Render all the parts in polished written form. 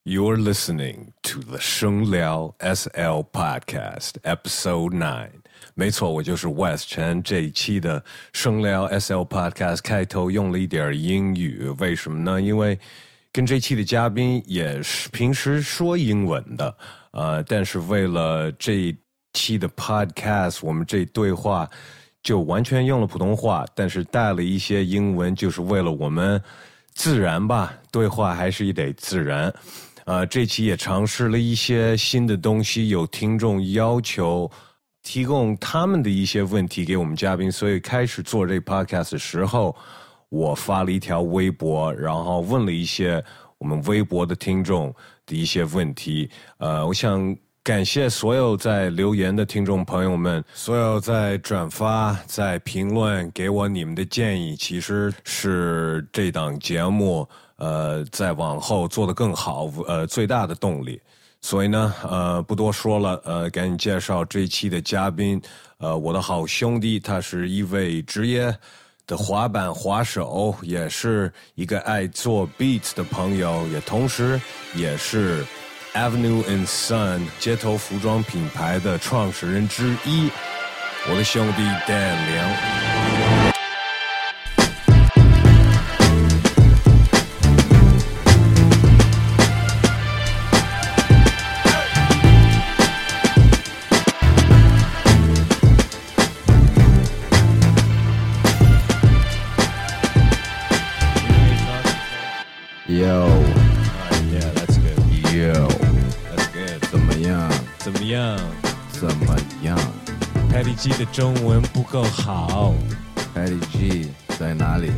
You're listening to the 声聊 SL Podcast Episode 9。没错，我就是 West 陈。这一期的声聊 SL Podcast 开头用了一点英语，为什么呢？因为跟这期的嘉宾也是平时说英文的，但是为了这一期的 Podcast， 我们这对话就完全用了普通话，但是带了一些英文，就是为了我们自然吧，对话还是得自然。这期也尝试了一些新的东西，有听众要求提供他们的一些问题给我们嘉宾，所以开始做这 podcast 的时候，我发了一条微博，然后问了一些我们微博的听众的一些问题。我想感谢所有在留言的听众朋友们，所有在转发、在评论给我你们的建议，其实是这档节目再往后做得更好最大的动力。所以呢不多说了，赶紧介绍这一期的嘉宾。我的好兄弟，他是一位职业的滑板滑手，也是一个爱做 beats 的朋友，也同时也是 Avenue and Sun 街头服装品牌的创始人之一，我的兄弟 Dan 梁。Yeah, that's good. Yo, That's good. 怎么样？ 怎么样？ 怎么样 Patty G 的中文不够好。 ？Patty G 在哪里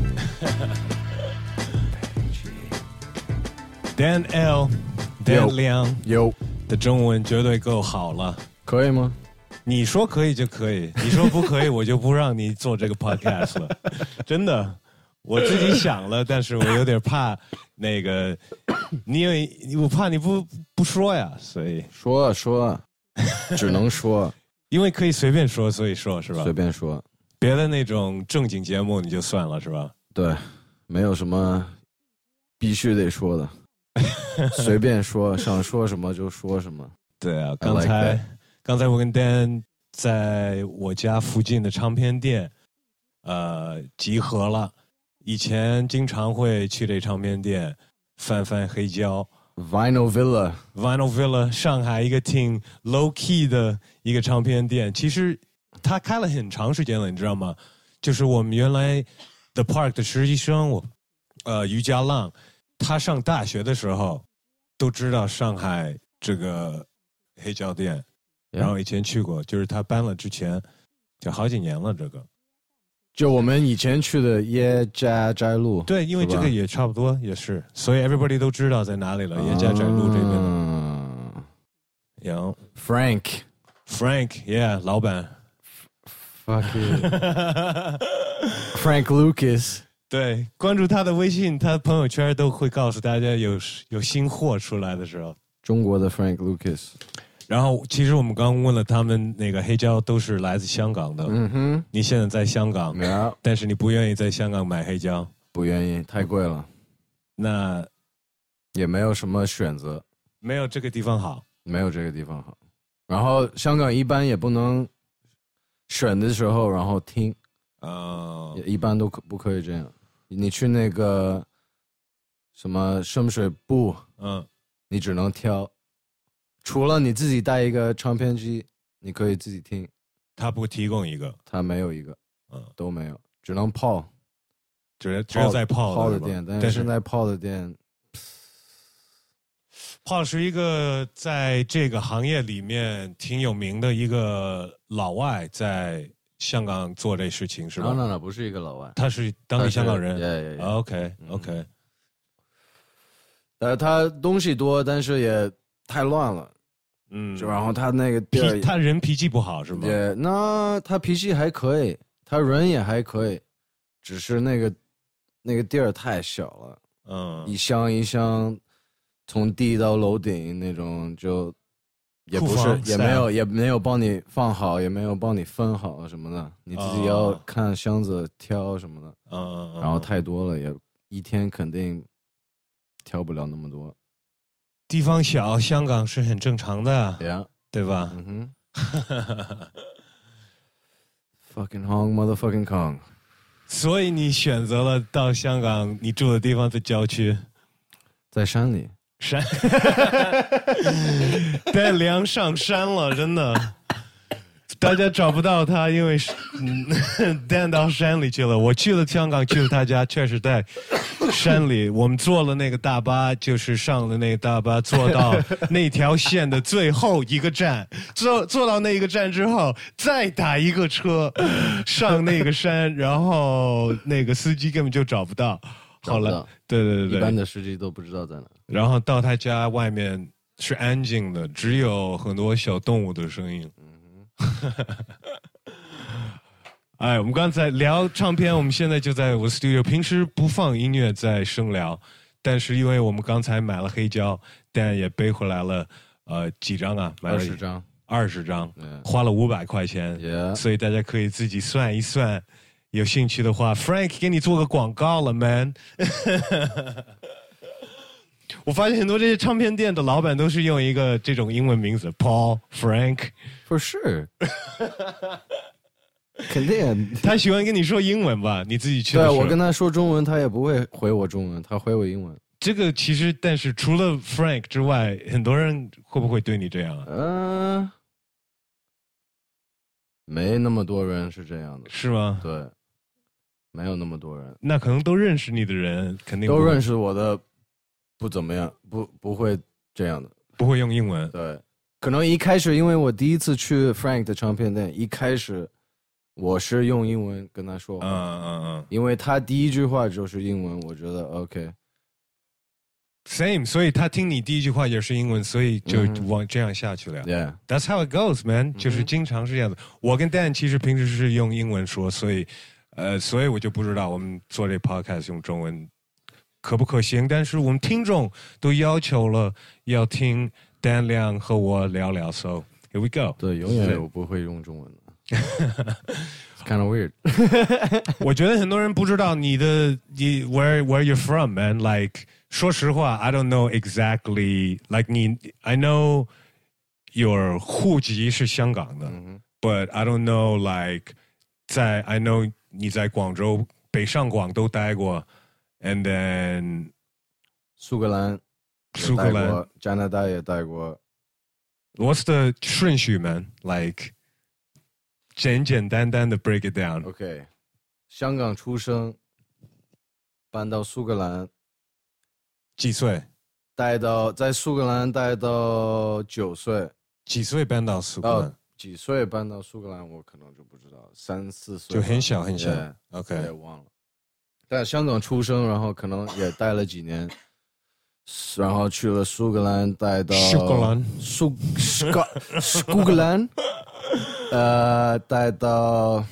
Dan L、Dan 梁 ？Yo， 的中文绝对够好了。 可以吗？ 你说可以就可以，你说不可以，我就不让你做这个 podcast 了。真的，我自己想了，但是我有点怕那个，我怕你不说呀，所以说，只能说， 因为可以随便说，所以说是吧？ 随便说。 别的那种正经节目你就算了是吧？ 对，没有什么必须得说的，随便说，想说什么就说什么。 对啊， I like that 刚才我跟 Dan 在我家附近的唱片店集合了。以前经常会去这唱片店翻黑胶。 Vinyl Villa 上海一个挺 low key 的一个唱片店，其实它开了很长时间了，你知道吗？就是我们原来 The Park 的实习生于家浪，他上大学的时候都知道上海这个黑胶店，然后以前去过，就是他搬了之前就好几年了这个。 就我们以前去的耶加斋路。 对，因为这个也差不多也是，所以 everybody 都知道在哪里了，耶加斋路这边的。有 Frank，yeah， 老板。 Fuck it. Frank Lucas。 对，关注他的微信，他朋友圈都会告诉大家有新货出来的时候。 中国的 Frank Lucas。 然后，其实我们刚问了他们，那个黑胶都是来自香港的。 嗯哼， 你现在在香港，但是你不愿意在香港买黑胶， 不愿意，太贵了。 那也没有什么选择， 没有这个地方好， 没有这个地方好。然后香港一般也不能选的时候，然后听，也一般都不可以这样。你去那个什么深水埗，你只能挑。除了你自己带一个唱片机，你可以自己听。 他不提供一个， 他没有一个，都没有，只能泡， 只有在泡的店。但是现在泡的店， 泡是一个在这个行业里面挺有名的一个老外，在香港做这事情是吧？ 那不是一个老外， 他是当地香港人。 OK， 他东西多，但是也太乱了。就然后他那个地儿， 他人脾气不好是吗？ 那他脾气还可以，他人也还可以，只是那个地儿太小了，一箱一箱，从地到楼顶那种，就也不是也没有帮你放好，也没有帮你分好什么的，你自己要看箱子挑什么的，然后太多了，也一天肯定挑不了那么多。 地方小，香港是很正常的， Yeah. 对吧？ Fucking Hong motherfucking Kong。 所以你选择了到香港，你住的地方在郊区， 在山里。 Dan 梁上山了，真的。大家找不到他，因为Dan 到山里去了。我去了香港，去了他家，确实在山里。我们坐了那个大巴，就是上了那个大巴，坐到那条线的最后一个站。坐到那个站之后，再打一个车上那个山，然后那个司机根本就找不到。好了，对， 一般的司机都不知道在哪。 然后到他家外面是安静的，只有很多小动物的声音。哎，我们刚才聊唱片，我们现在就在我 studio。平时不放音乐在声聊，但是因为我们刚才买了黑胶，但也背回来了几张啊？买了20张，花了500块钱，所以大家可以自己算一算。有兴趣的话 ，Frank 给你做个广告了 ，man。我发现很多这些唱片店的老板都是用一个这种英文名字 ，Paul、Frank。For sure 。肯定， 他喜欢跟你说英文吧？你自己去的时候。 对，我跟他说中文，他也不会回我中文，他回我英文。 这个其实，但是除了 Frank 之外，很多人会不会对你这样啊？ 没那么多人是这样的。 是吗？ 对，没有那么多人。 那可能都认识你的人，肯定都认识我的，不怎么样，不会这样的， 不会用英文。 对，可能一开始，因为我第一次去 Frank 的唱片店，一开始。我是用英文跟他说话，因为他第一句话就是英文，我觉得 OK。Same， 所以他听你第一句话也是英文，所以就往这样下去了。 Yeah，that's how it goes, man。就是经常是这样子。我跟 Dan 其实平时是用英文说，所以我就不知道我们做这 podcast 用中文可不可行。但是我们听众都要求了要听 Dan 亮和我聊聊 ，so here we go。 对，永远我不会用中文的。It's kind of weird 我觉得很多人不知道你 where you're from, man. Like 说实话 I don't know exactly. Like I know your 户籍是香港的，but I don't know like I know 你在广州北上广都待过 and then 苏格兰加拿大也待过。 What's the 顺序 man? Like简简单单的 break it down。 OK， 香港出生，搬到苏格兰， 几岁？ 在苏格兰待到9岁。 几岁搬到苏格兰？ 几岁搬到苏格兰我可能就不知道，3、4岁。 就很小很小。OK， 也忘了。在香港出生，然后可能也待了几年，然后去了苏格兰，待到苏格兰。待到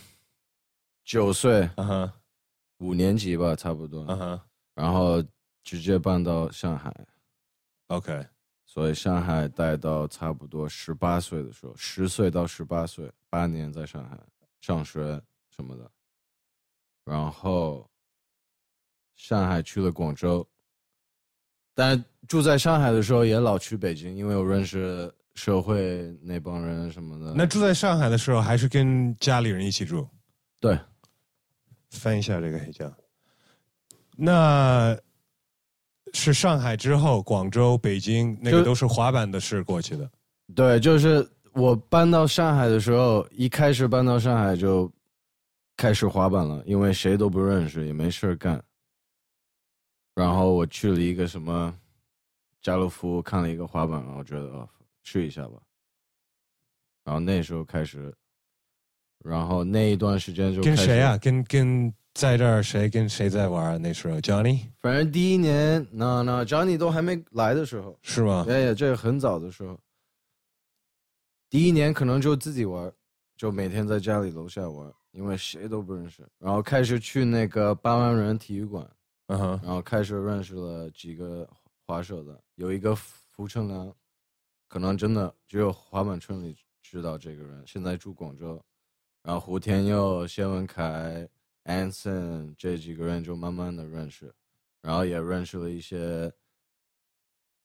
9岁，5年级吧，差不多。然后直接搬到上海。 OK， 所以上海待到差不多18岁的时候，10岁到18岁，8年在上海上学什么的。然后上海去了广州，但住在上海的时候也老去北京，因为我认识社会那帮人什么的。 那住在上海的时候还是跟家里人一起住？ 对。 翻一下这个黑胶。那是上海之后广州北京那个都是滑板的事过去的。 对，就是我搬到上海的时候，一开始搬到上海就开始滑板了，因为谁都不认识也没事干。然后我去了一个什么家乐福看了一个滑板，然后觉得试一下吧。然后那时候开始，然后那一段时间就跟谁啊？跟在这儿谁跟谁在玩？那时候 Johnny， 反正第一年Johnny 都还没来的时候。 是吗？ 哎，这个很早的时候。第一年可能就自己玩，就每天在家里楼下玩，因为谁都不认识。然后开始去那个8万人体育馆，然后开始认识了几个滑手的，有一个福成良，可能真的只有滑板村里知道这个人，现在住广州。然后胡天佑、谢文凯、Anson 这几个人就慢慢的认识，然后也认识了一些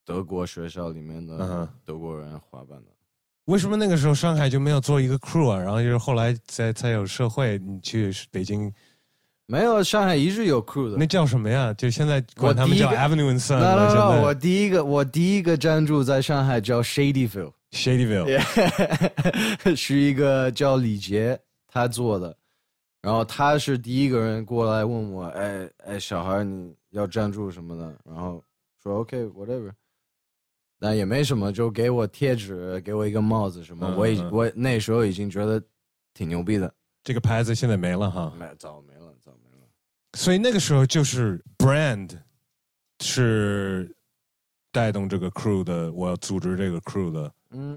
德国学校里面的德国人滑板的。 为什么那个时候上海就没有做一个 crew 啊？然后就是后来才有社会，你去北京。 没有，上海一直有 crew 的。 那叫什么呀？就现在管他们叫 Avenue and Sun。 No， 我第一个站住在上海叫 Shadyville， 是一个叫李杰他做的，然后他是第一个人过来问我，哎，小孩你要站住什么的，然后说 OK whatever， 但也没什么，就给我贴纸，给我一个帽子什么，我那时候已经觉得挺牛逼的。 这个牌子现在没了哈， 早没了。 所以那个时候就是 brand 是带动这个 crew 的，我要组织这个 crew 的。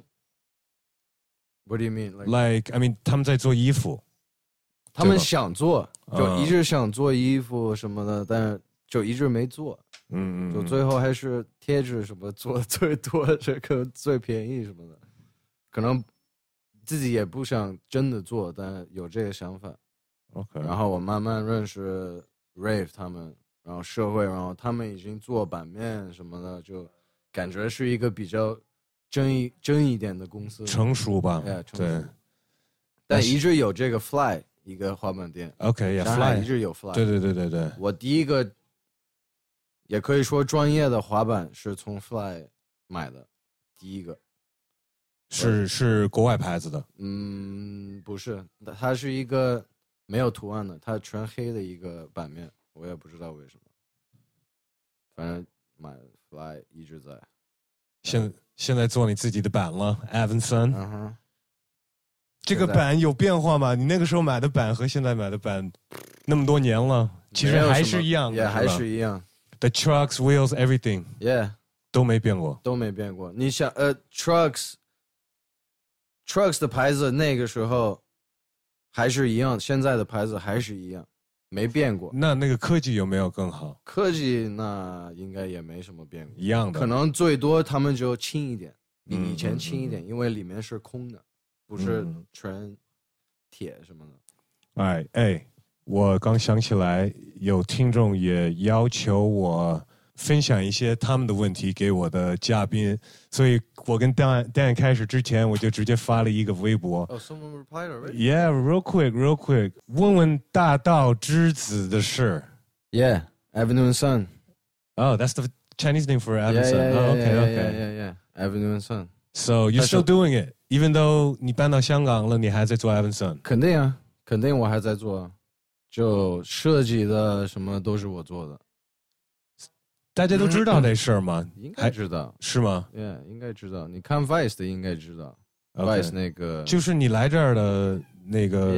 What do you mean? Like I mean， 他们在做衣服， 他们想做，就一直想做衣服什么的，但是就一直没做。就最后还是贴纸什么做的最多，这个最便宜什么的，可能自己也不想真的做，但有这个想法。 OK， 然后我慢慢认识 Rave 他们，然后社会，然后他们已经做版面什么的，就感觉是一个比较真一点的公司， 成熟吧？ 对。但一直有这个 Fly 一个滑板店 ，OK，Fly 一直有 Fly， 对。 我第一个也可以说专业的滑板是从 Fly 买的，第一个是国外牌子的， 不是，它是一个。没有图案的，它全黑的一个版面，我也不知道为什么。反正买 Fly 一直在。 现在做你自己的版了 ，Avenue Sun。这个版有变化吗？你那个时候买的版和现在买的版，那么多年了，其实还是一样的， 也还是一样。 The trucks, wheels, everything， 都没变过， 你想，trucks 的牌子那个时候。还是一样，现在的牌子还是一样，没变过。 那个科技有没有更好？ 科技那应该也没什么变过， 一样的。 可能最多他们就轻一点，比以前轻一点，因为里面是空的，不是全铁什么的。 我刚想起来，有听众也要求我分享一些他们的问题给我的嘉宾，所以我跟Dan开始之前，我就直接发了一个微博。 Someone replied already? Yeah, real quick. 问问大道之子的事。 Yeah, Avenue and Sun. Oh, that's the Chinese name for Avenue Sun. Yeah. Avenue and Sun. So you're still doing it, even though 你搬到香港了，你还在做 Avenue Sun？ 肯定我还在做，就设计的什么都是我做的。 大家都知道这事儿吗？ 应该知道， 是吗？ Yeah， 应该知道。你看 Vice 的应该知道 ，Vice 那个就是你来这儿的那个。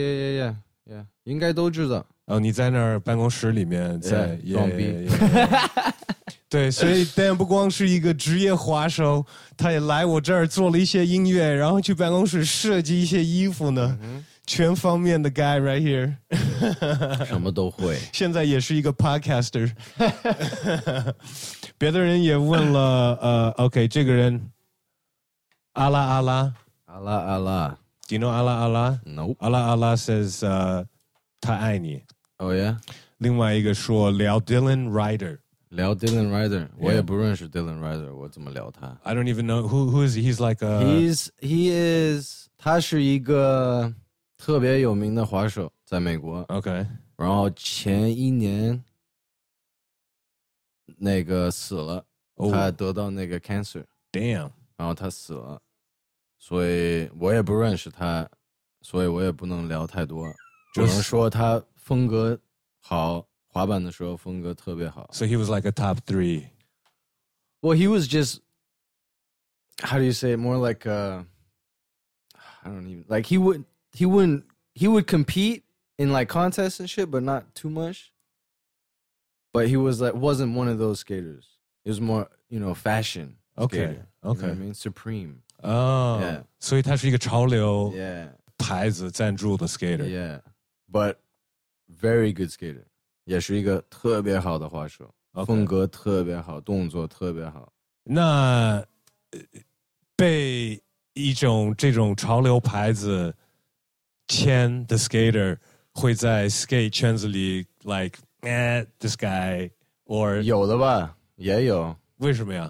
Yeah， 应该都知道。 你在那儿办公室里面在装逼。 对，所以 Dan 不光是一个职业滑手，他也来我这儿做了一些音乐，然后去办公室设计一些衣服呢。全方面的 guy right here， 什么都会。 现在也是一个 podcaster。别的人也问了，OK， 这个人阿拉 ，Do you know 阿拉 ？No。 阿拉 says 他爱你。 Oh yeah。 另外一个说聊 Dylan Ryder， 我也不认识 Dylan Ryder， 我怎么聊他 ？I don't even know who is he. He's like he is 他是一个。特别有名的滑手，在美国。 OK， 然后前一年那个死了，他得到那个 cancer。Damn， 然后他死了，所以我也不认识他，所以我也不能聊太多，只能说他风格好，滑板的时候风格特别好。 So he was like a top 3. Well, he was just how do you say it? More like I don't even like he would compete in like contests and shit, but not too much. But he was like wasn't one of those skaters. It was more, fashion skater. Okay. You know what I mean? Supreme. Yeah. 所以他是一个潮流 Yeah. 牌子赞助的 skater. Yeah. But very good skater. 也是一个特别好的滑手，风格特别好，动作特别好。 那被一种这种潮流牌子签的 skater 会在 skate 圈子里 like this guy or 有的吧，也有。 为什么呀？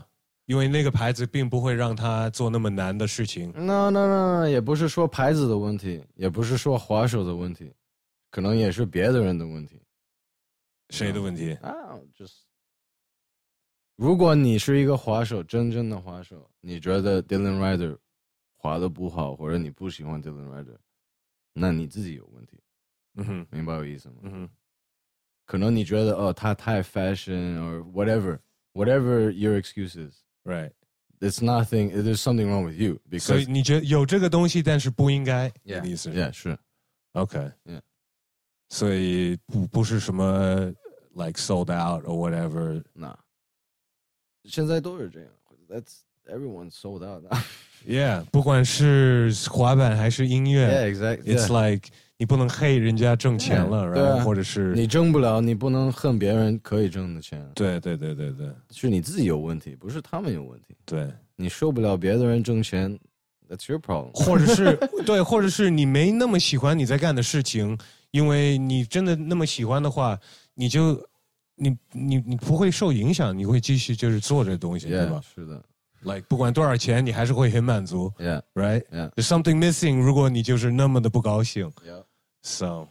因为那个牌子并不会让他做那么难的事情。 那也不是说牌子的问题，也不是说滑手的问题，可能也是别的人的问题。 谁的问题？ 就是如果你是一个滑手，真正的滑手，你觉得 Dylan Rider 滑的不好，或者你不喜欢 Dylan Rider， 那你自己有问题。明白我意思吗？可能你觉得他太 fashion or whatever your excuse is. Right. It's nothing. There's something wrong with you. 所以你觉得有这个东西，但是不应该。 Yeah. 意思是。 OK. Yeah. 所以不是什么 like sold out or whatever. 那现在都是这样。That's everyone sold out. Yeah. 不管是滑板还是音乐。 Yeah, exactly. It's like 你不能黑人家挣钱了， right? 或者是你挣不了，你不能恨别人可以挣的钱。 对， 是你自己有问题，不是他们有问题。 对， 你受不了别的人挣钱 ，That's your problem。 或者是对，或者是你没那么喜欢你在干的事情，因为你真的那么喜欢的话，你不会受影响，你会继续就是做这东西， yeah, 对吧？ 是的。 Like 不管多少钱，你还是会很满足。 Yeah. Right. Yeah. There's something missing. 如果你就是那么的不高兴。 Yeah. So,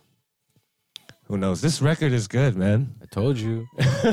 who knows? This record is good, man. I told you.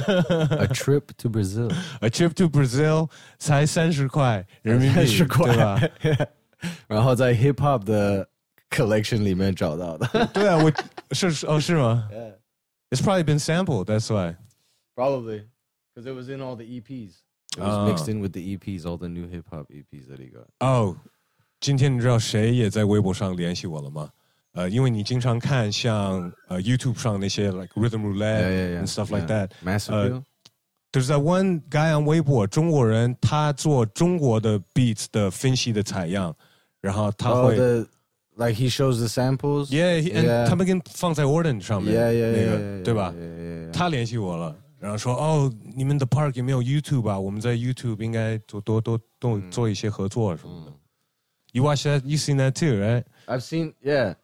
A trip to Brazil. A trip to Brazil 才30块人民币 ，30块， 对吧？ 然后在 hip hop 的 collection 里面找到的。 对啊，是吗 Yeah. It's probably been sampled. That's why. Probably, because it was in all the EPs. It was mixed in with the EPs, all the new hip hop EPs that he got. 今天你知道谁也在微博上联系我了吗？因为你经常看像YouTube 上那些 like Rhythm Roulette and stuff like that. Massive. There's that one guy on 微博，中国人，他做中国的 beats 的分析的采样，然后他会 like he shows the samples. Yeah, 他们跟放在 Warden 上面，那个对吧？他联系我了。然后说你们的 Park 有没有 YouTube 啊？我们在 YouTube 应该多做一些合作什么的。You watch that? You seen that too, right? I've seen, yeah.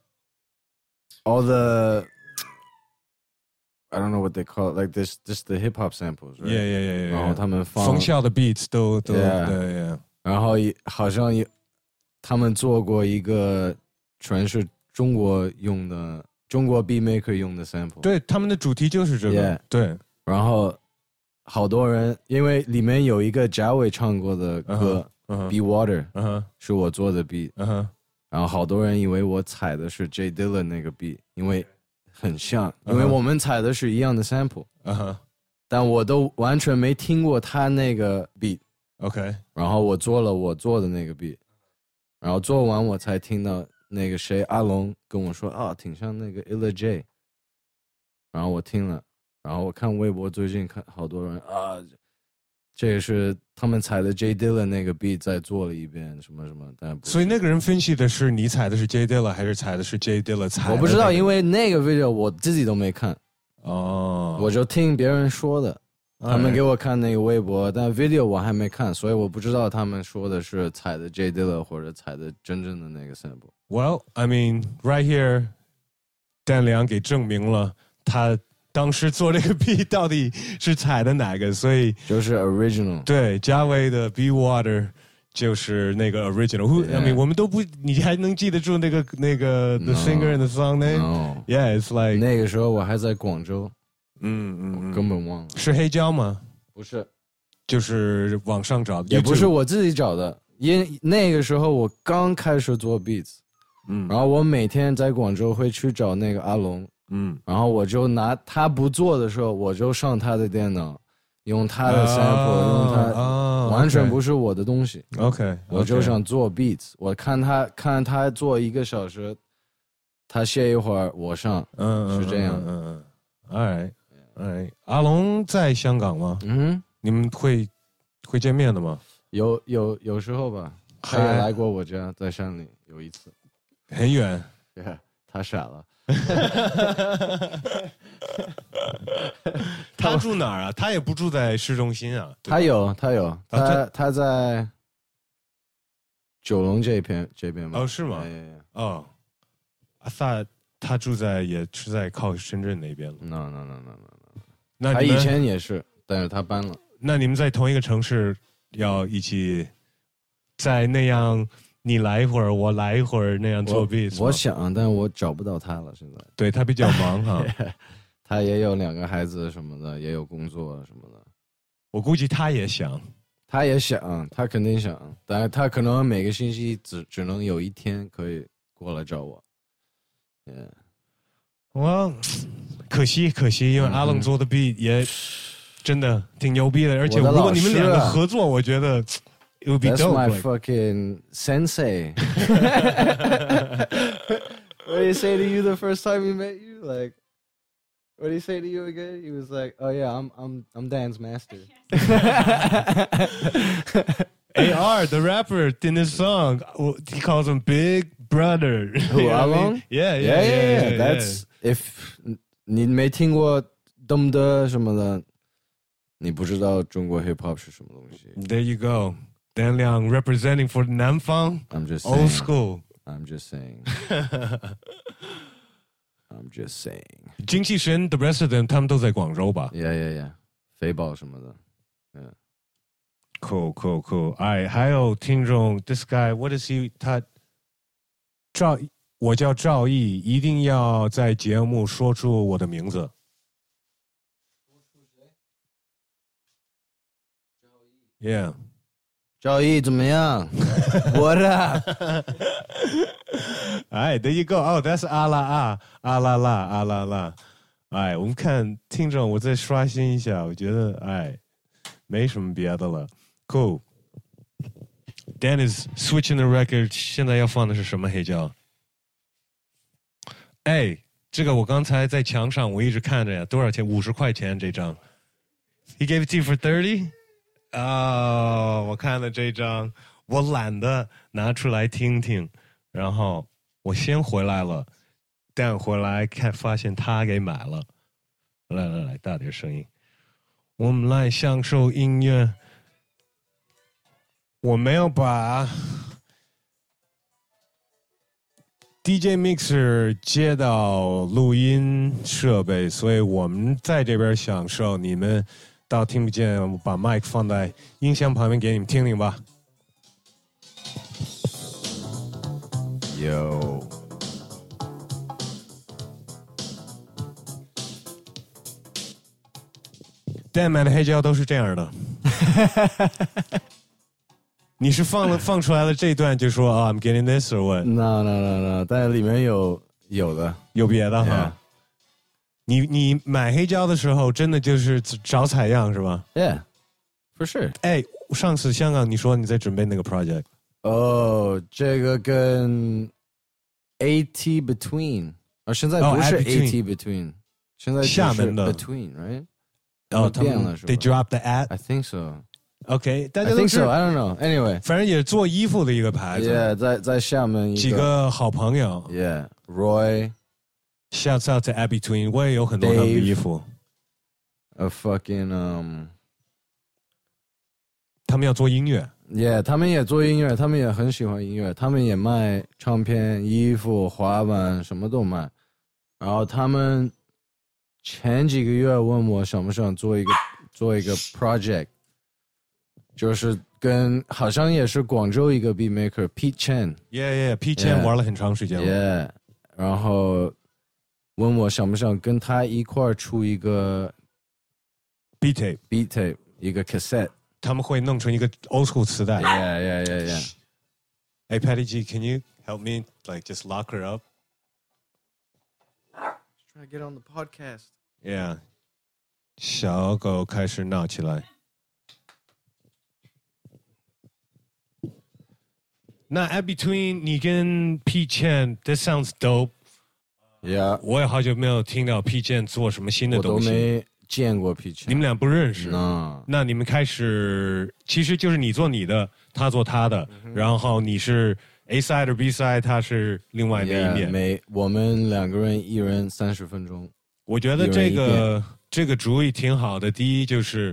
All the, I don't know what they call it, like this, just the hip hop samples, right? Yeah. 然后他们放冯笑的 beats 都对。 然后好像他们做过一个全是中国用的，中国 beat maker 用的 sample。 对，他们的主题就是这个。对。 然后好多人，因为里面有一个贾伟唱过的歌，Be Water，是我做的 beat，然后好多人以为我踩的是 J Dilla 那个 beat，因为很像，因为我们踩的是一样的 sample，但我都完全没听过他那个 beat，OK，然后我做了我做的那个 beat，然后做完我才听到那个谁阿龙跟我说挺像那个 Illa J， 然后我听了。然后我看微博最近看好多人这也是他们踩的 J Dilla 那个 beat 再做了一遍什么什么，但所以那个人分析的是你踩的是 J Dilla 还是踩的是 J Dilla 踩的？ 我不知道，因为那个 video 我自己都没看我就听别人说的，他们给我看那个微博，但 video 我还没看，所以我不知道他们说的是踩的 J Dilla 或者踩的真正的那个 sample。 Well, I mean, right here， Dan良给证明了他当时做这个 beat 到底是踩的哪个，所以就是 original。 对，嘉威的 Be Water 就是那个 original。 I mean， 我们都不，你还能记得住那个 The singer and the song name？ Yeah, it's like 那个时候我还在广州，我根本忘了。 是黑胶吗？ 不是， 就是网上找的， 也不是我自己找的，因那个时候我刚开始做 beats，然后我每天在广州会去找那个阿龙。然后我就拿他不做的时候，我就上他的电脑，用他的 sample，用他完全不是我的东西。 OK， 我就想做 beats， 我看他做1个小时，他歇一会儿，我上，是这样。 All right，阿龙在香港吗？你们会见面的吗？ 有时候吧，他也来过我家，在山里有一次， 很远。 他傻了。 他住哪儿啊？他也不住在市中心啊。 他有，他在九龙这边吗？ 是吗？I thought 他也是在靠深圳那边了。 No。 那他以前也是，但是他搬了。 那你们在同一个城市要一起在那样你来一会儿我来一会儿那样做 beat？ 我想，但我找不到他了。现在对他比较忙哈， 他也有2个孩子什么的，也有工作什么的。 我估计他也想， 他肯定想，但他可能每个星期只能有1天可以过来找我。 我可惜，因为阿冷做的 beat 也真的挺牛逼的，而且如果你们2个合作，我觉得 it would be dope. That's my fucking sensei. What did he say to you the first time he met you? Like, what did he say to you again? He was like, "Oh yeah, I'm Dan's master." AR, the rapper, in his song, he calls him Big Brother. Who, Along? Yeah. That's if 你没听过dumb的什么的，你不知道中国 hip hop 是什么东西。 There you go. Dan Liang representing for 南方 I'm just old saying, school. I'm just saying. I'm just saying. 精气神 the rest of them 他们都在广州吧 Yeah. 肥宝什么的。Yeah. Cool. 哎，还有听众 ，this guy what is he？ 我叫赵毅，一定要在节目说出我的名字。Yeah， 赵毅怎么样 ？What up？ 哎 ，There you go. Oh, that's 阿拉啦。哎，我们看听众，我再刷新一下，我觉得哎，没什么别的了。Cool. Dan is switching the record. 现在要放的是什么黑胶？哎，这个我刚才在墙上，我一直看着呀，多少钱？50块钱这张。He gave it to you for 30? 我看了这张，我懒得拿出来听听，然后我先回来了，但回来发现他给买了。来，大点声音，我们来享受音乐。我没有把 DJ Mixer 接到录音设备，所以我们在这边享受，你们倒听不见。我把麦克放在音箱旁边给你们听听吧。 有。 Dan 买的黑胶都是这样的。你是放出来了这一段就说I'm getting this or what? No， 但里面有的， 有别的哈。你买黑胶的时候真的就是找采样是吧 ？Yeah, for sure. 哎，上次香港你说你在准备那个 project。 这个跟 AT Between， 现在不是 AT Between， 现在厦门的 Between right？ 他们 They dropped the at. I think so.OK， 大家都是 I don't know. Anyway， 反正也做衣服的一个牌子。 Yeah， 在厦门几个好朋友。 Yeah，Roy。Shouts out to Abby Twin， 我也有很多他们的衣服。他们要做音乐。 Yeah， 他们也做音乐，他们也很喜欢音乐，他们也卖唱片、衣服、滑板，什么都卖。然后他们前几个月问我想不想做一个 project。就是跟好像也是广州一个 beat maker Pete Chen， Pete Chen 玩了很长时间了。 然后问我想不想跟他一块出一个 beat tape 一个 cassette， 他们会弄成一个 old school 磁带。 Yeah. Hey Patty G, can you help me like just lock her up? Just trying to get on the podcast. Yeah. 小狗开始闹起来。那 Abby Twin 你跟 Pete Chen That sounds dope. Yeah. 我也好久没有听到 Pete Chen 做什么新的东西。 我都没见过 Pete Chen。 你们俩不认识？ 那你们开始其实就是你做你的，他做他的，然后你是 A side 或 B side， 他是另外的一面。 我们2个人一人30分钟。 我觉得这个主意挺好的。第一就是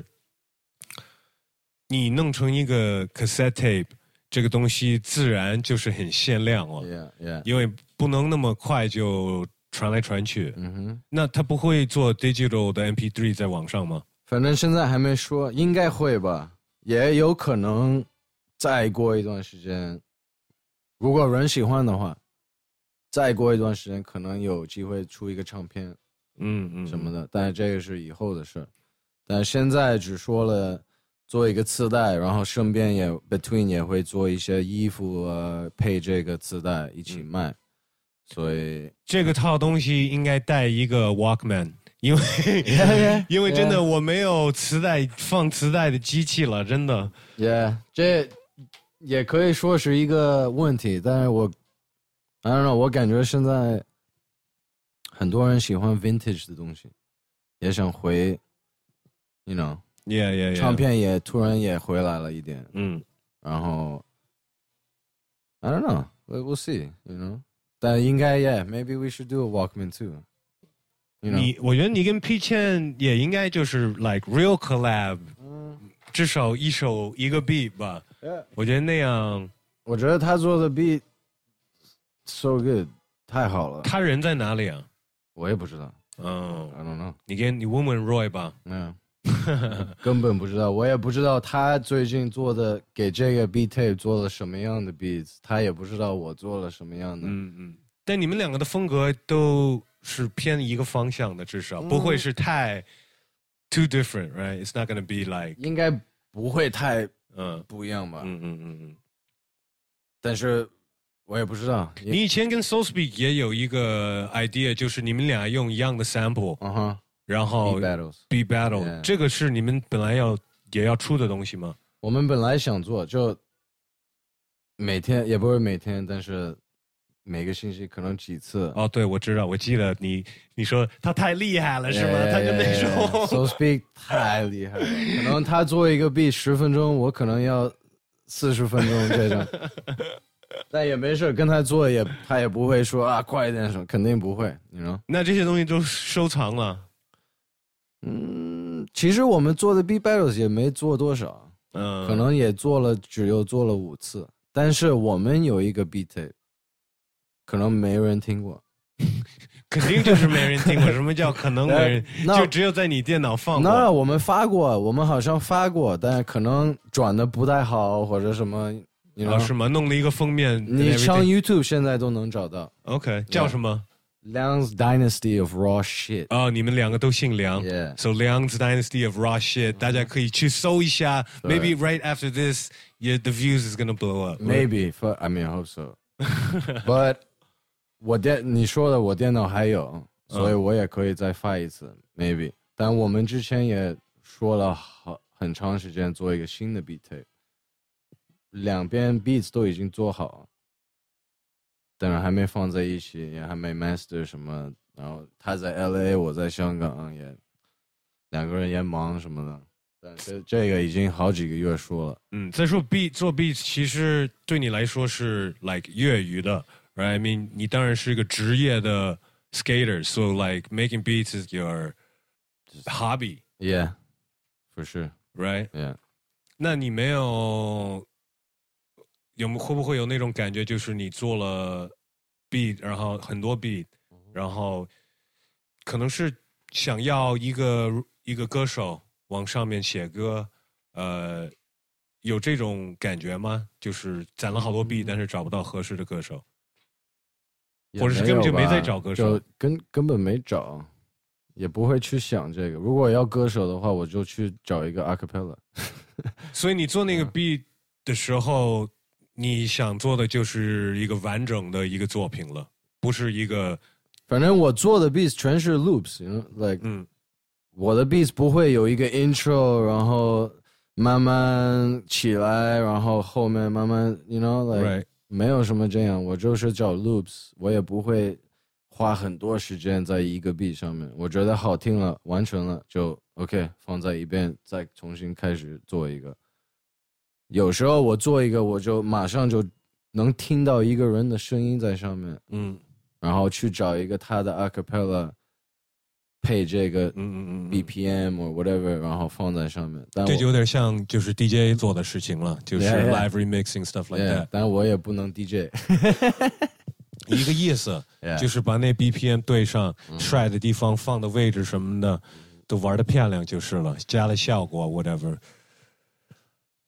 你弄成一个 cassette tape。这个东西自然就是很限量了，因为不能那么快就传来传去。那他不会做 digital 的 MP3 在网上吗？ 反正现在还没说，应该会吧。 也有可能再过一段时间，如果人喜欢的话，再过一段时间可能有机会出一个唱片，什么的。但是这个是以后的事，但是现在只说了做一个磁带，然后顺便也 Between 也会做一些衣服配这个磁带一起卖，所以这个套东西应该带一个 Walkman。因为真的我没有放磁带的机器了，真的。 这也可以说是一个问题，但是I don't know， 我感觉现在很多人喜欢 vintage 的东西，也想回 ，you know， 唱片也突然也回来了一点，然后 I don't know， we'll see，you know， 但应该 maybe we should do a Walkman too。 我觉得你跟 P 倩也应该就是 like real collab，至少一个 beat 吧。我觉得那样， 我觉得他做的 beat so good， 太好了。 他人在哪里啊？ 我也不知道。I don't know。 你问问 Roy 吧。 根本不知道，我也不知道他最近做的给这个 beat tape 做了什么样的 beats， 他也不知道我做了什么样的。 但你们两个的风格都是偏一个方向的，至少不会是太 too different, right? It's not gonna be like 应该不会太不一样吧？但是我也不知道。 你以前跟 SoulSpeak 也有一个 idea， 就是你们俩用一样的 sample，然后 beat battle， 这个是你们本来也要出的东西吗？ 我们本来想做，就每天也不是每天，但是每个星期可能几次。 哦，对，我知道，我记得你说他太厉害了，是吗？他就那种 SoulSpeak 太厉害了，可能他做一个 beat 10分钟，我可能要40分钟这种。但也没事，跟他做他也不会说快一点什么，肯定不会，你知道。 那这些东西都收藏了。 其实我们做的 beat battles 也没做多少，可能也只有做了5次。但是我们有一个 beat tape， 可能没人听过。 肯定就是没人听过。什么叫可能没人？就只有在你电脑放过。 那我们发过，我们好像发过，但是可能转的不太好或者什么。 是吗？弄了一个封面， 你上 YouTube 现在都能找到。 OK， 叫什么 ？Liang's Dynasty of Raw Shit。 你们两个都姓梁。So Liang's Dynasty of Raw Shit， 大家可以去搜一下。Maybe right after this, the views is gonna blow up. Maybe, I mean, I hope so. But 你说的我电脑还有，所以我也可以再发一次 ，maybe。但我们之前也说了很长时间做一个新的 beat tape。两边 beats 都已经做好，但是还没放在一起，也还没 master 什么。然后他在 LA， 我在香港，两个人也忙什么的。但是这个已经好几个月说了。 再说做 beats 其实对你来说是 like 业余的 ，right? I mean， 你当然是一个职业的 skater，so like making beats is your hobby. Yeah, for sure. Right? Yeah. 那你没会不会有那种感觉，就是你做了 beat， 然后很多 beat， 然后可能是想要一个歌手往上面写歌，有这种感觉吗？就是攒了好多 beat， 但是找不到合适的歌手，或者是根本就没在找歌手， 根本没找，也不会去想这个。如果要歌手的话，我就去找一个 acapella。 所以你做那个 beat 的时候。你想做的就是一个完整的一个作品了，不是一个。 反正我做的 beats 全是 loops，you know，like，我的 beats 不会有一个 intro， 然后慢慢起来，然后后面慢慢 ，you know，like， 没有什么这样。我就是找 loops， 我也不会花很多时间在一个 beat 上面。我觉得好听了，完成了就 OK， 放在一边，再重新开始做一个。有时候我做一个，我就马上就能听到一个人的声音在上面，然后去找一个他的 acapella 配这个BPM or whatever， 然后放在上面。 这就有点像就是 DJ 做的事情了，就是 live remixing stuff like that。 但我也不能 DJ， 一个意思，就是把那 BPM 对上，帅的地方放的位置什么的，都玩得漂亮就是了，加了效果 whatever。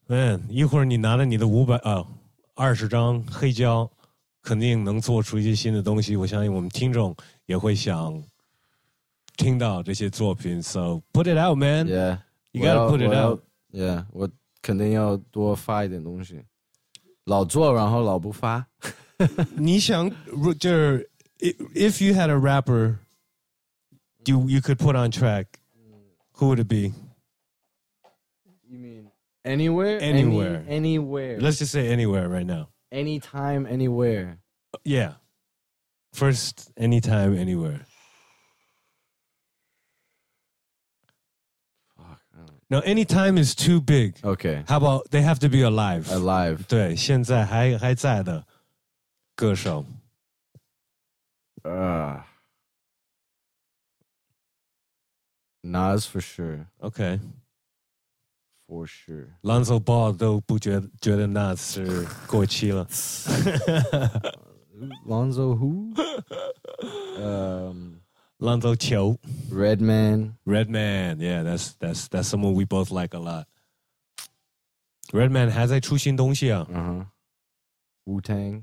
一会儿你拿着你的20张黑胶，肯定能做出一些新的东西。我相信我们听众也会想听到这些作品。So put it out, man. Yeah, you gotta put it out. Yeah, 我肯定要多发一点东西，老做然后老不发。 你想就是 if you had a rapper you could put on track, who would it be? You mean anywhere? Anywhere. Let's just say anywhere right now. Anytime, anywhere. Yeah. First, anytime, anywhere. Fuck. No, anytime is too big. Okay. How about they have to be alive? Alive. 对，现在还在的歌手。 Nas for sure. Okay. For sure. Lonzo Ball 都不觉得 Nas 是过期了。 Lonzo who? Lonzo 球。 Redman. Yeah, that's someone we both like a lot. Redman 还在出新东西啊。 Wu-Tang.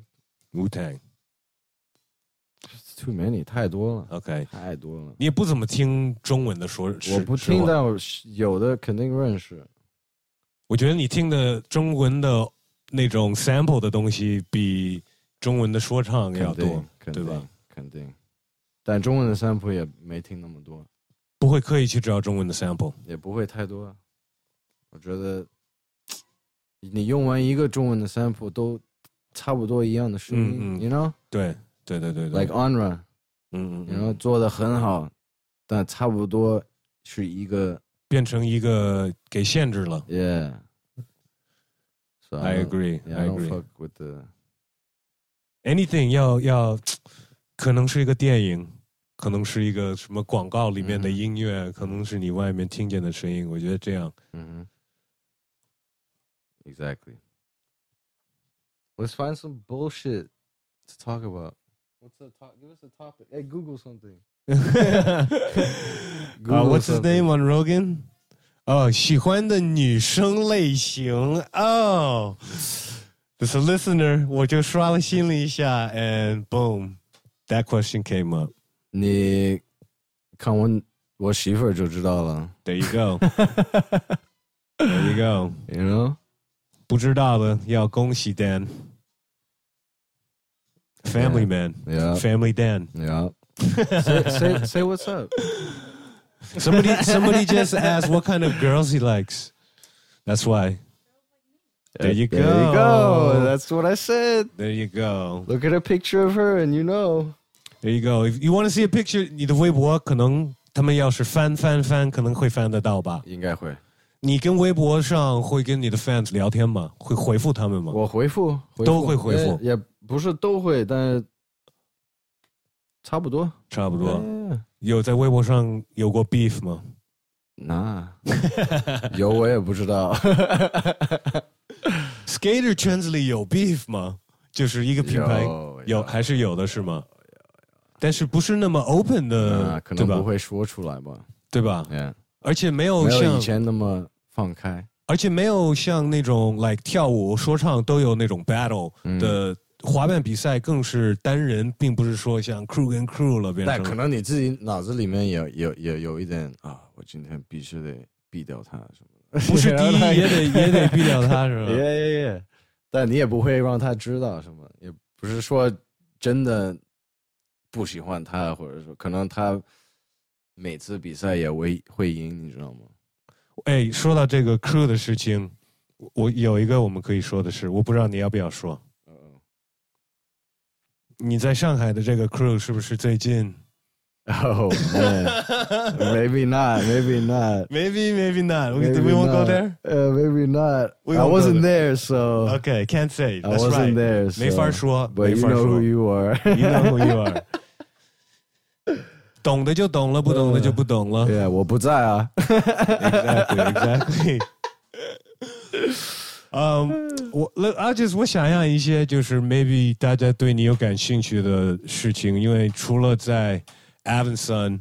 Too many, 太多了。 OK， 太多了。 你也不怎么听中文的说， 我不听，但有的肯定认识。 我觉得你听的中文的那种 sample 的东西比中文的说唱要多，对吧？ 肯定。但中文的 sample 也没听那么多。 不会刻意去找中文的 sample， 也不会太多。我觉得你用完一个中文的 sample 都差不多一样的声音，you know？ 对。 Like Onra， 然后做的很好，但差不多是一个变成一个给限制了。 Yeah， so I agree. I don't fuck with the anything 要可能是一个电影，可能是一个什么广告里面的音乐，可能是你外面听见的声音。我觉得这样。 Exactly. Let's find some bullshit to talk about. Give us a topic. Hey, Google something. What's his name on Rogan? 喜欢的女生类型。There's a listener. 我就刷了新了一下 and boom, that question came up. 你看我媳妇儿就知道了。 There you go. There you go. You know? 不知道的要恭喜 Dan。Family man, yeah. Family Dan. Yeah. say what's up. Somebody just asked what kind of girls he likes. That's why. There you go. There you go. That's what I said. There you go. Look at a picture of her and you know. There you go. If you want to see a picture, 你的微博可能他们要是翻，可能会翻得到吧？ 应该会。 你跟微博上会跟你的 fans 聊天吗？会回复他们吗？ 我回复都会回复， 也不是都会，但差不多。有在微博上有过 beef 吗？ 有我也不知道。 Skater 圈子里有 beef 吗？就是一个品牌有还是有的是吗？但是不是那么 open 的， 可能不会说出来吧？ 对吧？ Yeah. 而且没有像以前那么放开， 而且没有像那种 like 跳舞、说唱都有那种 battle 的滑板比赛，更是单人，并不是说像 crew 跟 crew 了变成。 但可能你自己脑子里面也有一点我今天必须得毙掉他什么的。 不是第一也得毙掉他是吧？ 也，但你也不会让他知道什么，也不是说真的不喜欢他，或者说可能他每次比赛也会赢，你知道吗？ 说到这个 crew 的事情，我有一个我们可以说的是，我不知道你要不要说。你在上海的这个 crew 是不是最近 Oh man, maybe not. Maybe not. We won't go there. Maybe not. I wasn't there, so okay, can't say. I wasn't there, so 没法说。 But you know who you are. You know who you are. 懂的就懂了，不懂的就不懂了。 Yeah, 我不在啊。 Exactly. 我想象一些就是 maybe 大家对你有感兴趣的事情，因为除了在 Avanson，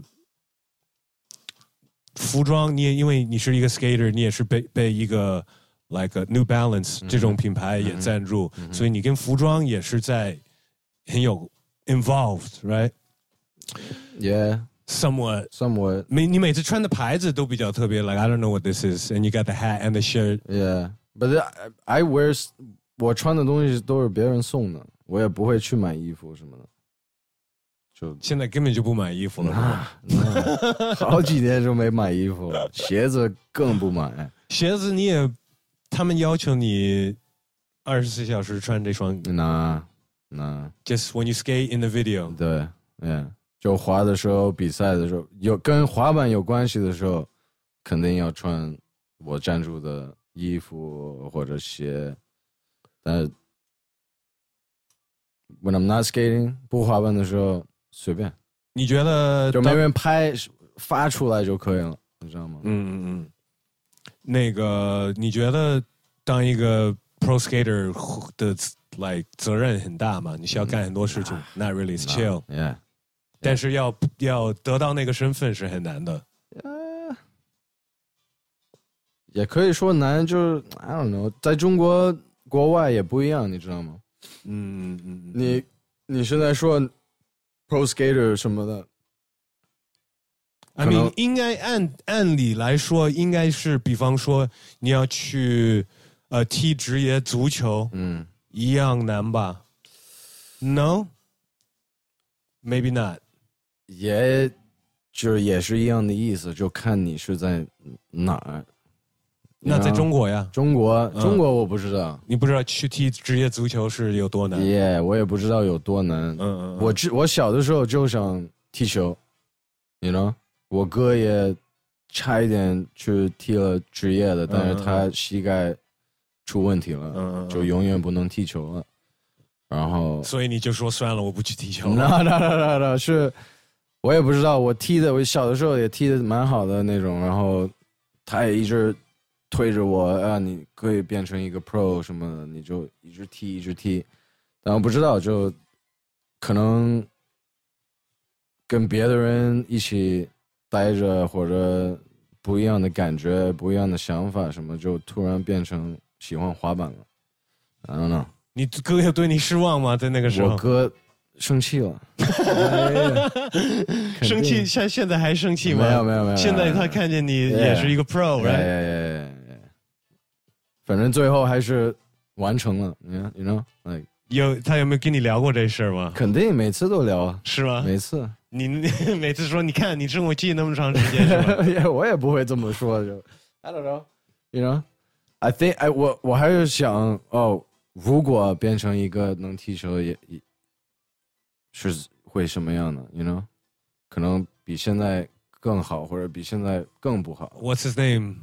服装你也因为你是一个 skater， 你也是被一个 like New Balance 这种品牌也赞助，所以你跟服装也是在很有 involved, right? Yeah. Somewhat. 你每次穿的牌子都比较特别 like I don't know what this is and you got the hat and the shirt. Yeah. But I wear 我穿的东西都是别人送的，我也不会去买衣服什么的。就现在根本就不买衣服了， 好几年就没买衣服了，鞋子更不买。 鞋子他们要求你24小时穿这双。 那 Just when you skate in the video. 对 ，Yeah， 就滑的时候、比赛的时候，有跟滑板有关系的时候，肯定要穿我赞助的衣服或者鞋。但 when I'm not skating 不滑板的时候，随便。 你觉得就没人拍发出来就可以了，你知道吗？ 那个你觉得当一个 pro skater 的 like 责任很大吗？你需要干很多事情。Not really, it's chill. Yeah. 但是要得到那个身份是很难的。 也可以说难，就是 I don't know， 在中国国外也不一样，你知道吗？你现在说 pro skater 什么的 I mean 应该按理来说应该是，比方说你要去踢职业足球，一样难吧 ？No, maybe not. 也是一样的意思，就看你是在哪儿。 那在中国呀？ 中国我不知道， 你不知道去踢职业足球是有多难？ 我也不知道有多难。我小的时候就想踢球 ，you know， 我哥也差一点去踢了职业的，但是他膝盖出问题了，就永远不能踢球了。然后， 所以你就说算了，我不去踢球。 那是，我也不知道，我小的时候也踢得蛮好的那种，然后他也一直推着我啊，你可以变成一个 pro 什么的，你就一直踢，但我不知道，就可能跟别的人一起待着，或者不一样的感觉、不一样的想法什么，就突然变成喜欢滑板了。I don't know。 你哥有对你失望吗？在那个时候， 我哥生气了。 生气，现在还生气吗？ 没有。 现在他看见你也是一个 pro，right？ 反正最后还是完成了。You know， 他有没有跟你聊过这事儿吗？ 肯定每次都聊啊。 是吗？ 每次。 你每次说，你看你生我气那么长时间，是吧？我也不会这么说，就 I don't know。You know，I think 我还是想如果变成一个能踢球也是会什么样的 ？You know， 可能比现在更好，或者比现在更不好。 What's his name?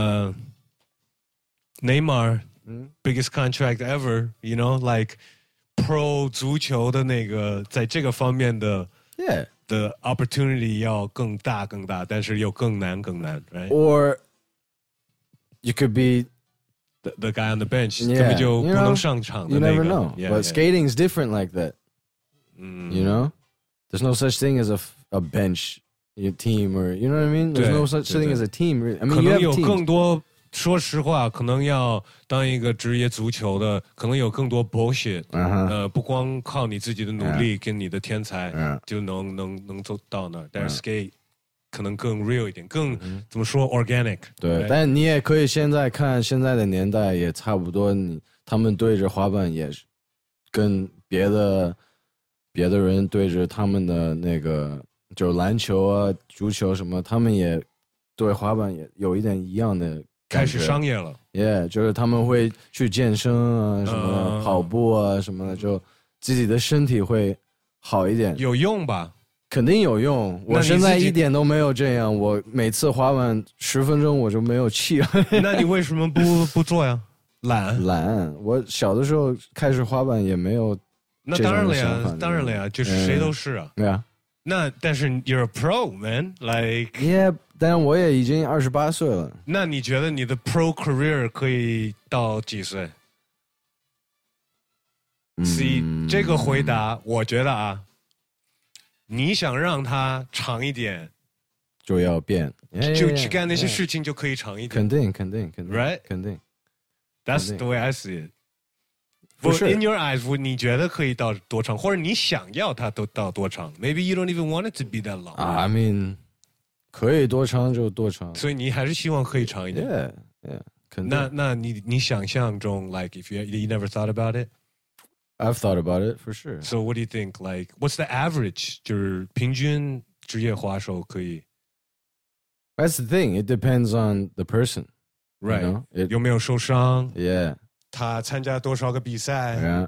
Neymar, biggest contract ever. You know, like pro 足球的那个，在这个方面的的 opportunity 要更大，但是又更难，right? Or you could be the guy on the bench 根本就不能上场的那个。 You never know. But skating is different like that. You know, there's no such thing as a bench team, or you know what I mean. There's no such thing as a team. I mean, 可能有更多。说实话，可能要当一个职业足球的，可能有更多 bullshit。不光靠你自己的努力跟你的天才就能走到那儿，但是 skate 可能更 real 一点，更怎么说 organic。 对，但你也可以现在看现在的年代也差不多，他们对着滑板也是跟别的人对着他们的那个就篮球啊、足球什么，他们也对滑板也有一点一样的。 开始商业了， 就是他们会去健身啊，什么跑步啊什么的，就自己的身体会好一点。 有用吧？ 肯定有用。我现在一点都没有这样，我每次滑板10分钟我就没有气了。 那你为什么不做呀？ 懒。我小的时候开始滑板也没有这种想法。 那当然了呀，就是谁都是啊。 对啊。 那但是 you're a pro man, like yeah， 但我也已经28岁了。 那你觉得你的 pro career 可以到几岁？C 这个回答，我觉得啊，你想让它长一点， 就要变， 就去干那些事情就可以长一点。 肯定 ，right？ 肯定。 That's the way I see it. But in your eyes, 你觉得可以到多长，或者你想要它都到多长 ？Maybe you don't even want it to be that long. I mean, 可以多长就多长。 所以你还是希望可以长一点。 Yeah. 那你想象中 like if you never thought about it? I've thought about it for sure. So what do you think? Like what's the average? 就是平均职业滑手可以。 That's the thing. It depends on the person. Right. You know? 有没有受伤 Yeah. 他参加多少个比赛 Yeah.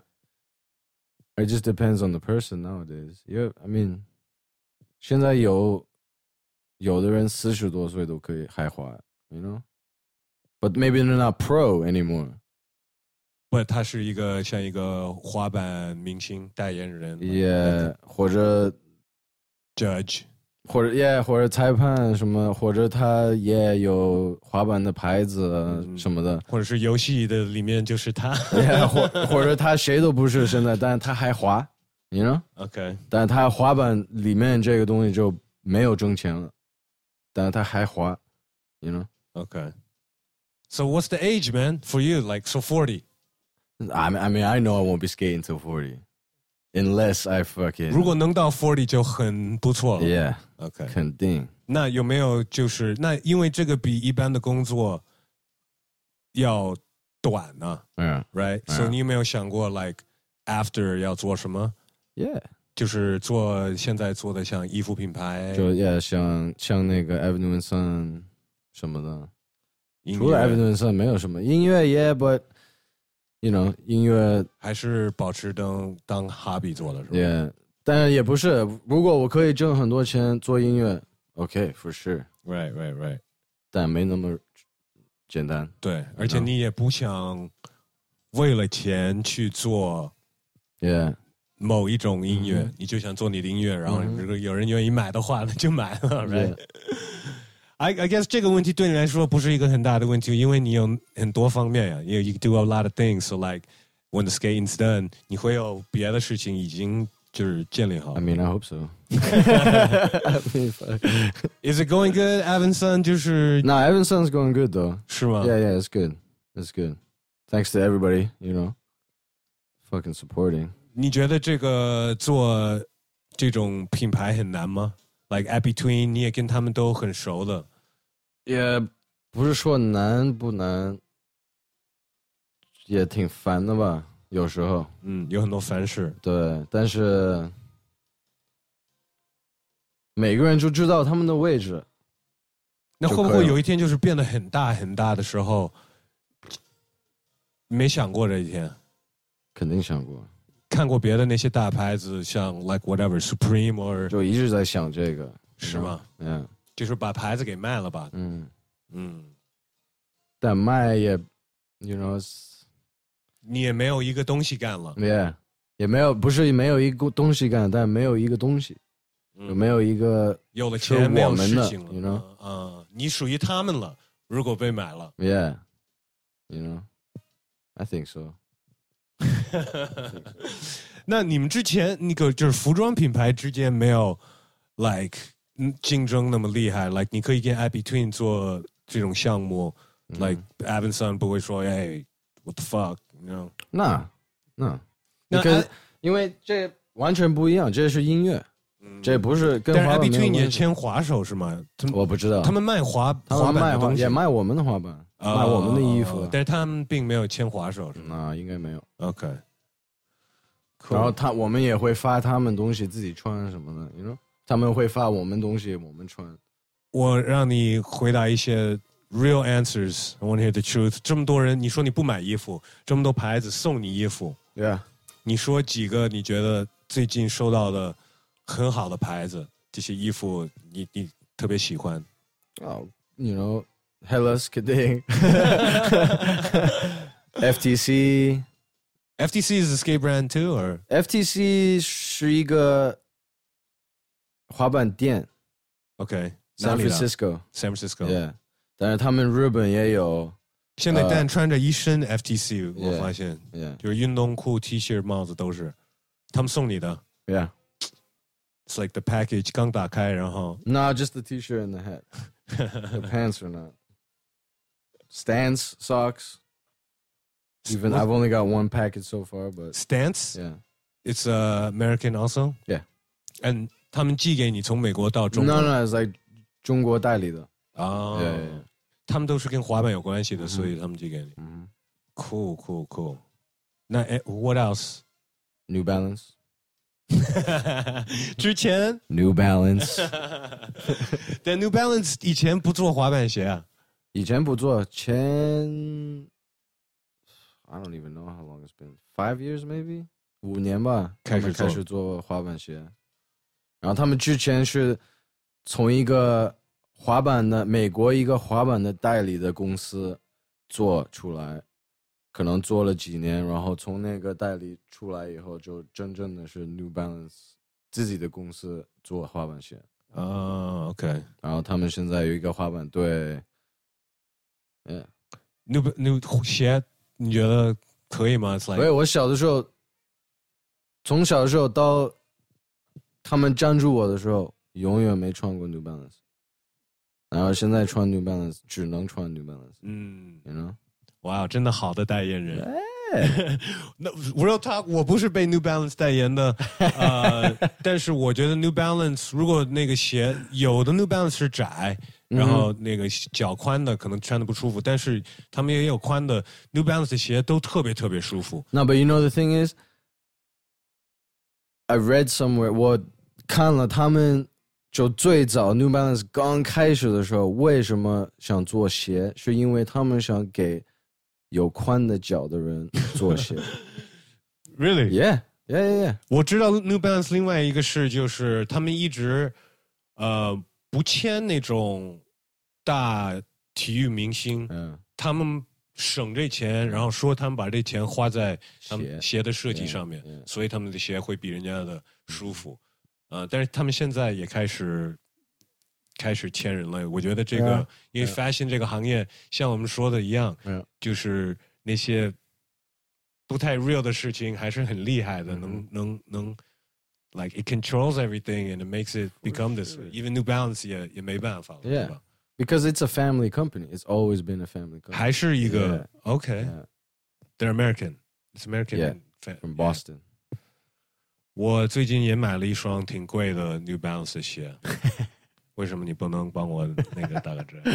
It just depends on the person nowadays. Yeah, I mean, 现在有的人40多岁都可以还滑 you know? But maybe they're not pro anymore. But 他是像一个滑板明星代言人 Yeah, 或者 judge 或者裁判什么，或者他也有滑板的牌子什么的， 或者是游戏的里面就是他， 或者他谁都不是现在，但是他还滑 you know? OK， 但是他滑板里面这个东西就没有挣钱了，但是他还滑 you know? OK. So what's the age, man, for you? Like, so 40? I mean, I know I won't be skating till 40. Unless I fucking... 如果能到40就很不错了。 Yeah. OK. 肯定。 那有没有那因为这个比一般的工作要短呢 right? So 你有没有想过 like after 要做什么 Yeah. 就是现在做的像衣服品牌就 yeah 像那个 Avenue and Sun 什么的。除了 Avenue and Sun 没有什么音乐 yeah but you know 音乐还是保持当 hobby 做的是吧 Yeah 但也不是如果我可以挣很多钱做音乐 OK for sure Right 但没那么简单对而且你也不想为了钱去做 Yeah 某一种音乐你就想做你的音乐然后如果有人愿意买的话那就买了 right I guess 这个问题对你来说不是一个很大的问题，因为你有很多方面呀。You do a lot of things, so like when the skating's done, 你会有别的事情已经就是建立好。 I mean, I hope so. Is it going good, Evanson? 就是 No, Evanson's going good though. 是吗 Yeah, it's good. It's good. Thanks to everybody, you know, fucking supporting. 你觉得这个做这种品牌很难吗？Like at between 你也跟他们都很熟的也不是说难不难也挺烦的吧有时候有很多烦事对但是每个人就知道他们的位置那会不会有一天就是变得很大很大的时候没想过这一天肯定想过看过别的那些大牌子像 like whatever Supreme or 就一直在想这个是吗就是把牌子给卖了吧但卖也 you know 你也没有一个东西干了 Yeah 也没有不是没有一个东西干但没有一个东西没有一个有了钱没有事情了 you know 你属于他们了如果被买了 Yeah you know I think so 那你们之前那个就是服装品牌之间没有 like 竞争那么厉害 like 你可以跟 At-Between 做这种项目 like Evanson 不会说 hey what the fuck you know 那因为这完全不一样这是音乐这不是跟滑板但是 At-Between 也签滑手是吗我不知道他们卖滑板的东西也卖我们的滑板卖我们的衣服但是他们并没有签滑手是吗应该没有 OK 然后我们也会发他们东西自己穿什么的 you know 他们会发我们东西我们穿我让你回答一些 real answers I want to hear the truth 这么多人你说你不买衣服这么多牌子送你衣服 Yeah 你说几个你觉得最近收到的很好的牌子这些衣服你特别喜欢 you know Hellas Kidding FTC FTC is a skate brand too or FTC 是一个滑板店 OK San Francisco Yeah 但是他们日本也有现在Dan穿着一身 FTC 我发现 Yeah 就是运动裤 T 恤帽子都是他们送你的 Yeah It's like the package 刚打开然后 No just the t-shirt and the hat The pants are not Stance socks Even I've only got one package so far, but Stance. Yeah, it's American also. Yeah, and 他们寄给你从美国到中国。 No, it's like 中国代理的。 哦， Yeah. 他们都是跟滑板有关系的，所以他们寄给你。Cool. 那what else? New Balance. 之前 New Balance. 但 New Balance 以前不做滑板鞋啊。 以前不做，I don't even know how long it's been. 5 years maybe? 5年吧，开始做滑板鞋。然后他们之前是从一个美国一个滑板的代理的公司做出来，可能做了几年，然后从那个代理出来以后，就真正的是 New Balance 自己的公司做滑板鞋。 OK。 然后他们现在有一个滑板队。 New 鞋你觉得可以吗？ 所以我小的时候，从小的时候到他们赞助我的时候，永远没穿过 New Balance， 然后现在穿 New Balance 只能穿 New Balance。You know？ 哇，真的好的代言人。那 Real Talk 我不是被 New Balance 代言的，但是我觉得 New Balance 如果那个鞋有的 New Balance 是窄。然后那个脚宽的可能穿的不舒服，但是他们也有宽的 New Balance 的鞋都特别特别舒服。 No, but you know the thing is, I read somewhere 我看了他们就最早 New Balance 刚开始的时候，为什么想做鞋，是因为他们想给有宽的脚的人做鞋。 Really? Yeah. 我知道 New Balance 另外一个事就是他们一直不签那种大体育明星，他们省这钱，然后说他们把这钱花在他们鞋的设计上面，所以他们的鞋会比人家的舒服。但是他们现在也开始签人了。我觉得这个，因为 fashion 这个行业像我们说的一样，就是那些不太 real 的事情还是很厉害的，能。Like it controls everything and it makes it become this way. Even New Balance 也没办法了，对吧？ Because it's a family company. It's always been a family company. 还是一个 OK. They're American. It's American. From Boston. 我最近也买了一双挺贵的 New Balance 的鞋。为什么你不能帮我那个打个折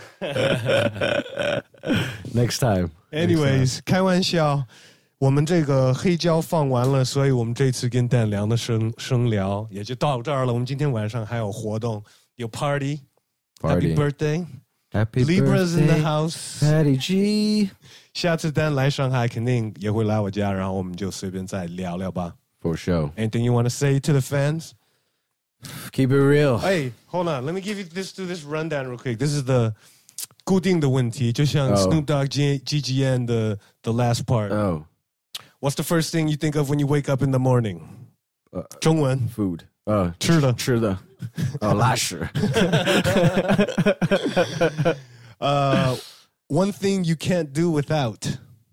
？Next time. Anyways, 开玩笑。我们这个黑胶放完了，所以我们这次跟Dan良的生聊也就到这儿了。我们今天晚上还有活动，有 party。Happy birthday. Happy Libra's birthday. in the house. Patty G. 下次Dan来上海肯定也会来我家，然后我们就随便再聊聊吧。 For sure. Anything you want to say to the fans? Keep it real. Hey, hold on. Let me give you this rundown real quick. This is the 固定的问题，就像 Snoop Dogg GGN 的 the last part。What's the first thing you think of when you wake up in the morning? 中文 food. 吃的拉屎。 One thing you can't do without.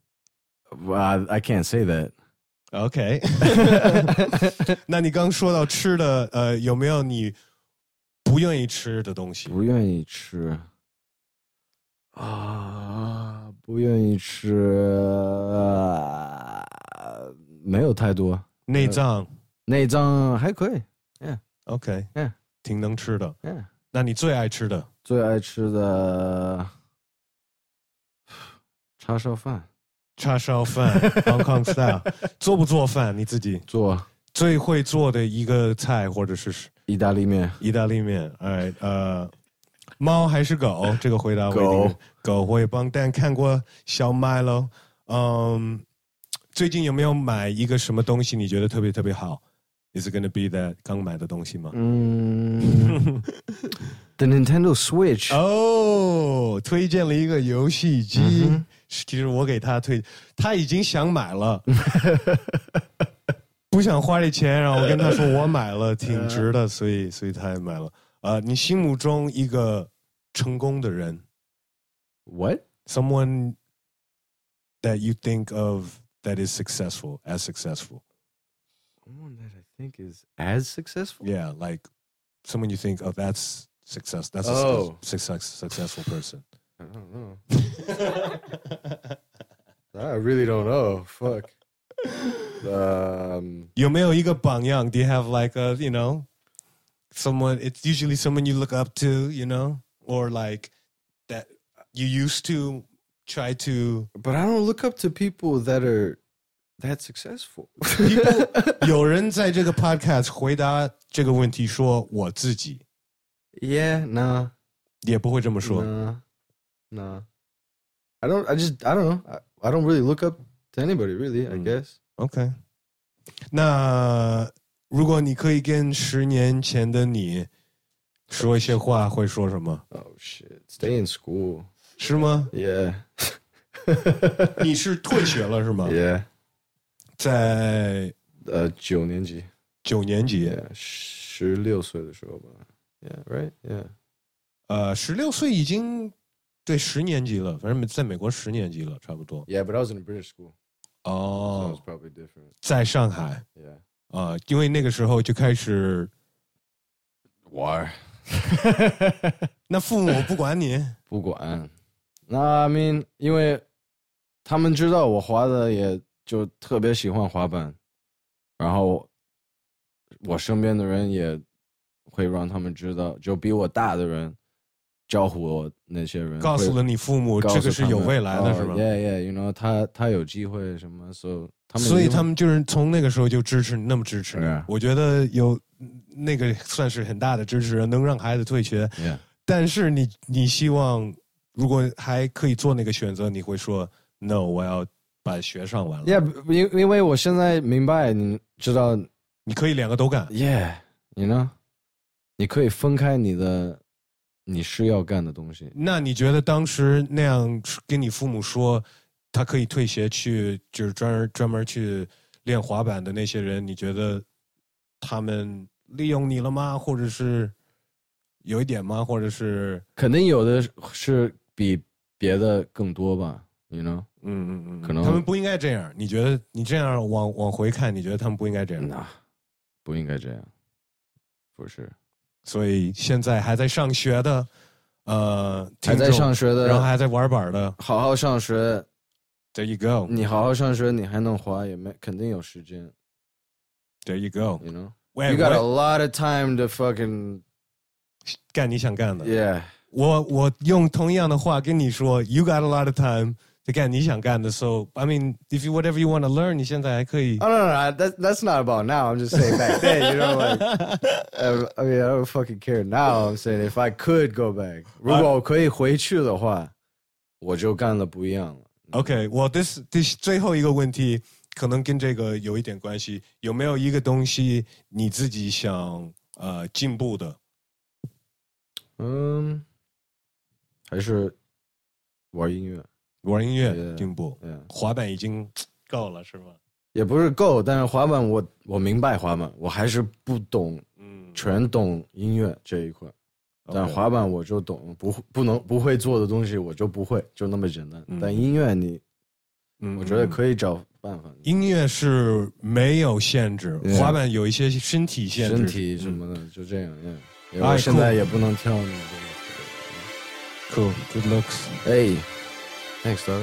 I can't say that. OK. 那你刚说到吃的，有没有你不愿意吃的东西？ 不愿意吃。不愿意吃，没有太多。 内脏还可以 ，OK， 挺能吃的。 Yeah. 那你最爱吃的？ 最爱吃的叉烧饭 ，Hong Kong style。做不做饭？你自己做。 最会做的一个菜或者是意大利面。 猫还是狗？这个回答狗会帮Dan看过小麦喽。最近有没有买一个什么东西你觉得特别特别好 ？Is it gonna be that 刚买的东西吗 ？The Nintendo Switch。 推荐了一个游戏机。其实我给他他已经想买了，不想花这钱，然后我跟他说我买了，挺值的，所以他也买了。你心目中一个成功的人 ？What? Someone that you think of that is successful, as successful. Someone that I think is as successful? Yeah, like someone you think, oh, that's success. That's a successful person. I don't know. I really don't know. Fuck. 有没有一个榜样 ？Do you have like a someone? It's usually someone you look up to, or like that you used to try to. But I don't look up to people that are that successful. 有人在这个 podcast 回答这个问题说我自己。 Yeah, nah. 也不会这么说。 Nah. I don't know. I don't really look up to anybody, really, I guess. Okay. 那如果你可以跟10年前的你说一些话，会说什么 ？Oh shit! Stay in school. 是吗 ？Yeah. 你是退学了是吗 ？Yeah. 在 9年级。 9年级。 16岁的时候吧。Yeah. Right. Yeah. 16岁已经对10年级了，反正在美国10年级了，差不多。 Yeah, but I was in a British school. Oh. So it was probably different. 在上海。 Yeah. 因为那个时候就开始玩。 那父母不管你？ 不管。那 I mean， 因为他们知道我滑的，也就特别喜欢滑板，然后我身边的人也会让他们知道，就比我大的人招呼我那些人， 告诉了你父母这个是有未来的，是吧 ？Yeah, you know， 他有机会什么，所以他们就是从那个时候就支持你，那么支持你。 Yeah. 我觉得有那个算是很大的支持，能让孩子退学。 Yeah. 但是你希望如果还可以做那个选择，你会说 No， 我要把学上完了。 Yeah， 因为我现在明白，你知道， 你可以2个都干。 Yeah，you know， 你可以分开你是要干的东西。 那你觉得当时那样跟你父母说，他可以退学去，就是专门去练滑板的那些人，你觉得他们利用你了吗？或者是有一点吗？或者是肯定有的是比别的更多吧 ，you know？ 可能他们不应该这样。你觉得你这样往回看，你觉得他们不应该这样？ 不应该这样，不是。 所以现在还在上学的， 还在上学的， 然后还在玩板的， 好好上学。 There you go。 你好好上学，你还能滑，肯定有时间。 There you go。 You know, you got a lot of time to fucking 干你想干的。 Yeah。 我用同样的话跟你说 ，You got a lot of time to 干你想干的。So I mean, if you whatever you want to learn， 你现在还可以。 Oh no, that's not about now. I'm just saying back then, you know, like I mean, I don't fucking care now. I'm saying if I could go back， 如果我可以回去的话，我就干了不一样了。 OK， 我this最后一个问题可能跟这个有一点关系，有没有一个东西你自己想进步的？ 还是玩音乐。 玩音乐进步，滑板已经够了是吗？ 也不是够，但是滑板我明白滑板，我还是不懂，全懂音乐这一块。但滑板我就懂，不会做的东西我就不会，就那么简单。但音乐我觉得可以找办法。 音乐是没有限制，滑板有一些身体限制， 身体什么的，就这样。因为我现在也不能跳那个。 Cool, good looks. Hey, thanks, dog.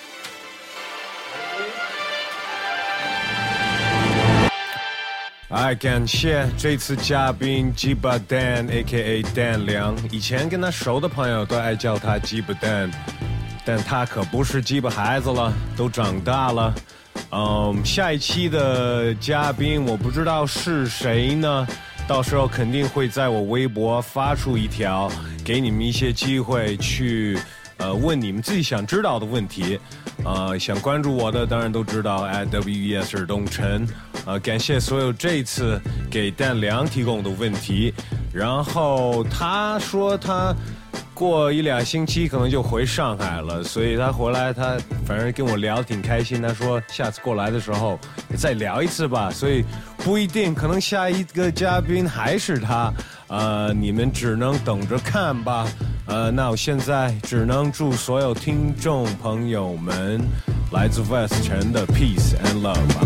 感谢这次嘉宾鸡巴 Dan A.K.A. Dan 梁，以前跟他熟的朋友都爱叫他鸡巴 Dan， 但他可不是鸡巴孩子了，都长大了。下一期的嘉宾我不知道是谁呢，到时候肯定会在我微博发出一条，给你们一些机会去问你们自己想知道的问题。想关注我的当然都知道 @WES 尔东晨。感谢所有这次给Dan 梁提供的问题。然后他说他过1-2星期可能就回上海了，所以他回来他反正跟我聊得挺开心，他说下次过来的时候再聊一次吧，所以不一定，可能下一个嘉宾还是他，你们只能等着看吧。那我现在只能祝所有听众朋友们来自 West 城的 Peace and Love 吧。